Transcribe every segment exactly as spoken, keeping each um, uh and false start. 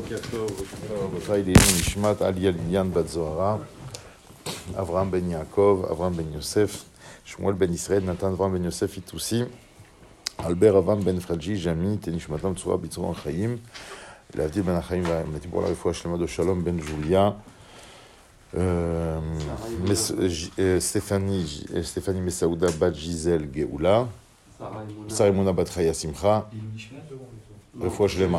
Nishmat Alia Lilian Bat Zohara, Avraham ben Yaakov, Avraham ben Yosef, Shmuel ben Israël, Nathan Avraham ben Yosef Itoussi, Albert Avraham ben Fralji, Jami, Tenishmatam Tzura Bitzura Chaim, L'Avdil ben Chaim, pour la réfoua Shlema de Shalom ben Julia, euh, mes, Stéphanie, Stéphanie Messaouda Bat Gisèle Geoula, Sarah Emouna Bat Chaya Simcha, réfoua Shlema,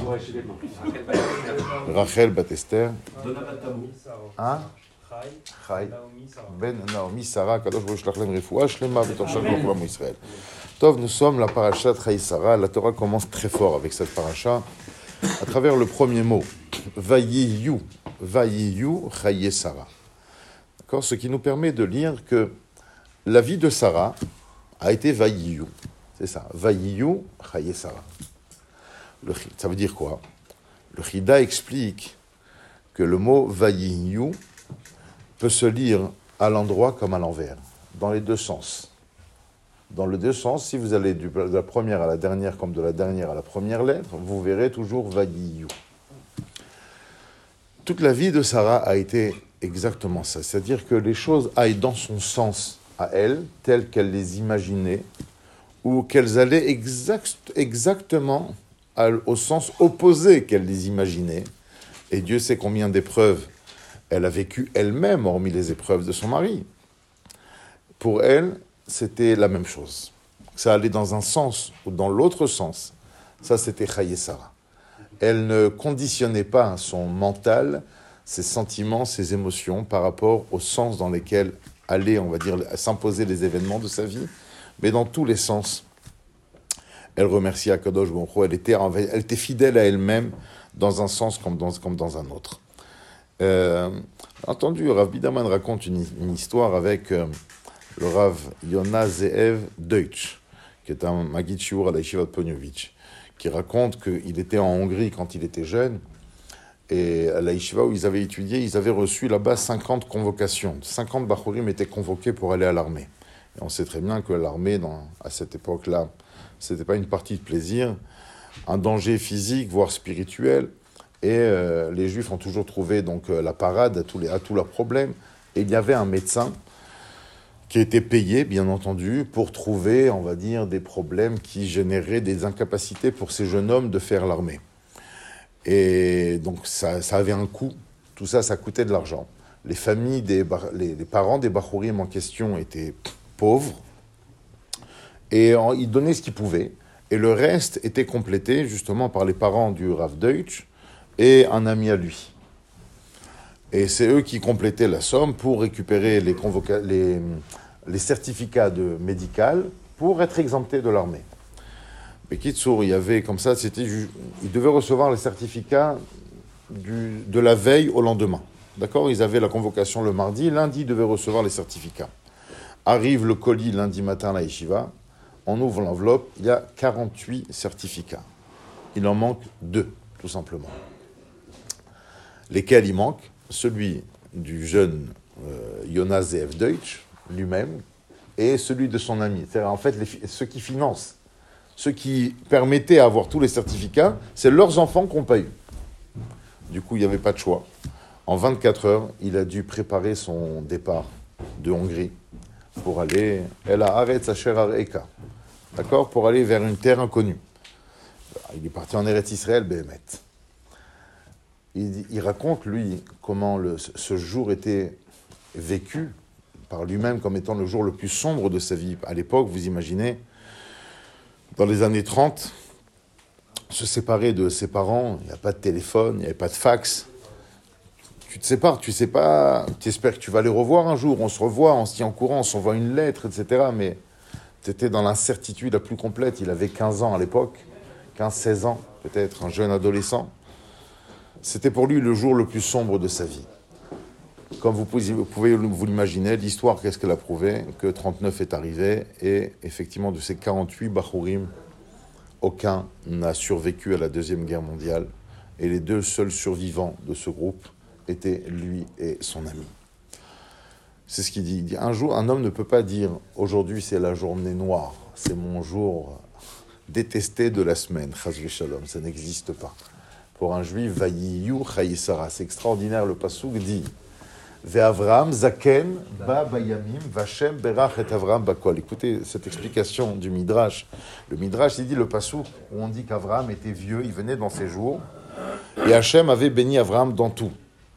Rachel Bat Esther, hein? Chai, Ben Naomi, Sarah, Kadosh Baruch Hu Lachem Refoua, Shlema, B'tor Shal Kol Israël. Tov, nous sommes la paracha de Chai Sarah. La Torah commence très fort avec cette paracha, à travers le premier mot, Vayiyu, Vayiyu, Chai Sarah. D'accord, ce qui nous permet de lire que la vie de Sarah a été Vayiyu. C'est ça, Vayiyu, Chai Sarah. Le, ça veut dire quoi? Le Chida explique que le mot Vayiyu peut se lire à l'endroit comme à l'envers, dans les deux sens. Dans les deux sens, si vous allez de la première à la dernière, comme de la dernière à la première lettre, vous verrez toujours Vayiyu. Toute la vie de Sarah a été exactement ça, c'est-à-dire que les choses aillent dans son sens à elle, telles qu'elle les imaginait, ou qu'elles allaient exact, exactement au sens opposé qu'elle les imaginait. Et Dieu sait combien d'épreuves elle a vécu elle-même, hormis les épreuves de son mari. Pour elle, c'était la même chose. Ça allait dans un sens ou dans l'autre sens. Ça, c'était Chai Sarah. Elle ne conditionnait pas son mental, ses sentiments, ses émotions par rapport au sens dans lesquels allaient, on va dire, s'imposer les événements de sa vie, mais dans tous les sens. Elle remerciait Akadosh Baruch Hu, elle était, elle était fidèle à elle-même dans un sens comme dans, comme dans un autre. Euh, entendu, Rav Biderman raconte une, une histoire avec euh, le Rav Yona Zeev Deutsch, qui est un Maggid Shiur à la Yeshiva de Ponyovitch, qui raconte qu'il était en Hongrie quand il était jeune, et à la Yeshiva où ils avaient étudié, ils avaient reçu là-bas cinquante convocations. cinquante Bachurim étaient convoqués pour aller à l'armée. Et on sait très bien que l'armée, dans, à cette époque-là, c'était pas une partie de plaisir, un danger physique, voire spirituel. Et euh, les Juifs ont toujours trouvé donc, euh, la parade à tous, les, à tous leurs problèmes. Et il y avait un médecin qui était payé, bien entendu, pour trouver, on va dire, des problèmes qui généraient des incapacités pour ces jeunes hommes de faire l'armée. Et donc, ça, ça avait un coût. Tout ça, ça coûtait de l'argent. Les familles, des, les, les parents des Bachurim en question étaient pauvres. Et en, ils donnaient ce qu'ils pouvaient. Et le reste était complété, justement, par les parents du Rav Deutsch et un ami à lui. Et c'est eux qui complétaient la somme pour récupérer les, convoca- les, les certificats de médical pour être exemptés de l'armée. Mais Kitsour, il y avait comme ça, c'était, ils devaient recevoir les certificats du, de la veille au lendemain. D'accord? Ils avaient la convocation le mardi, lundi, ils devaient recevoir les certificats. Arrive le colis lundi matin à la yeshiva, on ouvre l'enveloppe, il y a quarante-huit certificats. Il en manque deux, tout simplement. Lesquels il manque? Celui du jeune euh, Yona Zeev Deutsch, lui-même, et celui de son ami. C'est-à-dire, en fait, les, ceux qui financent, ceux qui permettaient d'avoir tous les certificats, c'est leurs enfants qui n'ont pas eu. Du coup, il n'y avait pas de choix. En vingt-quatre heures, il a dû préparer son départ de Hongrie pour aller El Haaretz Asher Areka, d'accord, pour aller vers une terre inconnue. Il est parti en Eretz Israël, Béhémet. Il, il raconte, lui, comment le, ce jour était vécu par lui-même comme étant le jour le plus sombre de sa vie. À l'époque, vous imaginez, dans les années trente, se séparer de ses parents, il n'y a pas de téléphone, il n'y avait pas de fax. Tu te sépares, tu sais pas, tu espères que tu vas les revoir un jour, on se revoit, on se tient en courant, on s'envoie une lettre, et cetera. Mais tu étais dans l'incertitude la plus complète. Il avait quinze ans à l'époque, quinze seize ans, peut-être, un jeune adolescent. C'était pour lui le jour le plus sombre de sa vie. Comme vous pouvez, vous pouvez vous l'imaginer, l'histoire, qu'est-ce qu'elle a prouvé? Que trente-neuf est arrivé, et effectivement, de ces quarante-huit Bachurim, aucun n'a survécu à la Deuxième Guerre mondiale, et les deux seuls survivants de ce groupe étaient lui et son ami. C'est ce qu'il dit. Il dit, un jour, un homme ne peut pas dire « Aujourd'hui, c'est la journée noire, c'est mon jour détesté de la semaine, chas v'shalom », ça n'existe pas. pour un juif, Vayiyu Chayisara. C'est extraordinaire, le passouk dit Ve'Avram Zaken Ba Bayamim Vachem Berach et Avram Bakol. Écoutez cette explication du Midrash. Le Midrash, il dit le passouk où on dit qu'Avram était vieux, il venait dans ses jours, et Hachem avait béni Avram dans tout.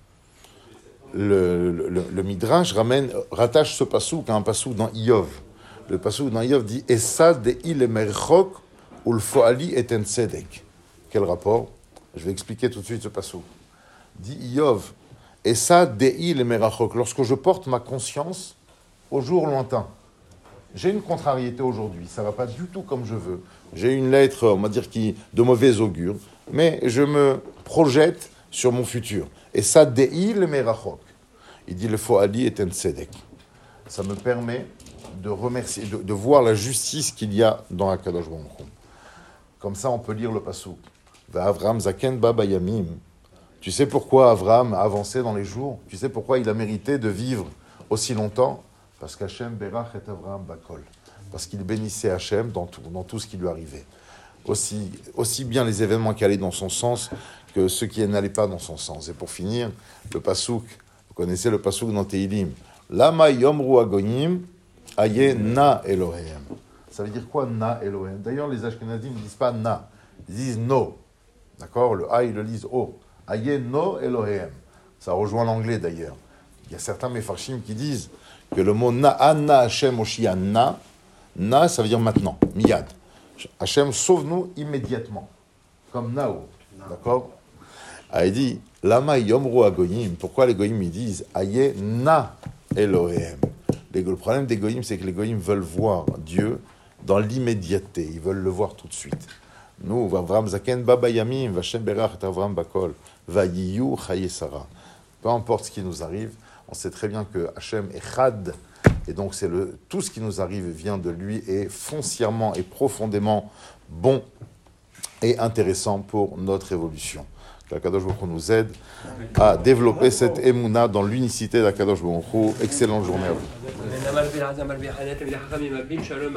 Le, le, le Midrash ramène, rattache ce passouk à un passouk dans Iyov. Le passouk dans Iyov dit Essa de'i le merchok ou le foali et en tzedek. Quel rapport? Je vais expliquer tout de suite ce passouk. Dit Iyov Essa de'i le merachok. Lorsque je porte ma conscience au jour lointain, j'ai une contrariété aujourd'hui, ça ne va pas du tout comme je veux. J'ai une lettre, on va dire, qui de mauvais augure, mais je me projette sur mon futur. Et ça, de'i le merachok. Il dit le foali et en tzedek. Ça me permet de remercier, de, de voir la justice qu'il y a dans Akadosh Baruch Hu. Comme ça, on peut lire le passouk. Avram zaken ba bayamim. Tu sais pourquoi Avram a avancé dans les jours? Tu sais pourquoi il a mérité de vivre aussi longtemps? Parce qu'Hachem berach et Avram bakol. Parce qu'il bénissait Hachem dans tout, dans tout ce qui lui arrivait. Aussi, aussi bien les événements qui allaient dans son sens que ceux qui n'allaient pas dans son sens. Et pour finir, le passouk, vous connaissez le passouk dans Tehilim. Lama yomru agoyim aye na Elohem. Ça veut dire quoi na Elohem? D'ailleurs, les Ashkenazim ne disent pas na, ils disent no. D'accord? Le a, ils le lisent o. Aye no Elohem. Ça rejoint l'anglais d'ailleurs. Il y a certains mefarshim qui disent que le mot na, anna Hashem oshia na, na, ça veut dire maintenant, miyad. Hashem, sauve-nous immédiatement. Comme nao. D'accord? Ah, il dit, lama yomru agoyim. Pourquoi les goyim ils disent aye na Elohem? Le problème des goyim, c'est que les goyim veulent voir Dieu dans l'immédiateté. Ils veulent le voir tout de suite. Nous, Avram zaken ba bayamim, Vachem berach et Avram bakol, vayiyu chayesara. Peu importe ce qui nous arrive, on sait très bien que Hachem est chad, et donc c'est le, tout ce qui nous arrive vient de lui et foncièrement et profondément bon et intéressant pour notre évolution. Qu'Akadosh Baruch Hu nous aide à développer cette émouna dans l'unicité d'Akadosh Baruch Hu. Excellente journée à vous.